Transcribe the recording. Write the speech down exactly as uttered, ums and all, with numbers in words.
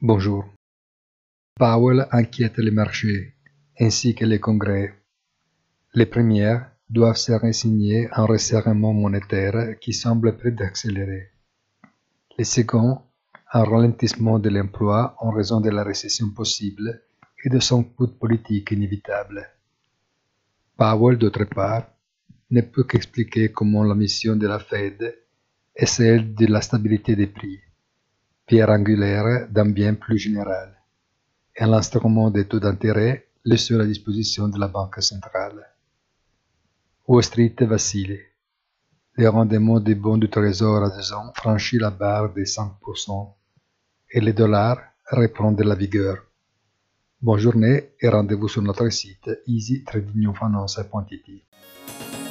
Bonjour. Powell inquiète les marchés, ainsi que les congrès. Les premières doivent se résigner à un resserrement monétaire qui semble près d'accélérer. Les seconds, un ralentissement de l'emploi en raison de la récession possible et de son coût politique inévitable. Powell, d'autre part, ne peut qu'expliquer comment la mission de la Fed est celle de la stabilité des prix, pierre angulaire d'un bien plus général, et l'instrument des taux d'intérêt le seul à disposition de la Banque centrale. Wall Street vacille. Le rendement des bons du trésor à deux ans franchit la barre des cinq pour cent et le dollar reprend de la vigueur. Bonne journée et rendez-vous sur notre site easy trading finance point it.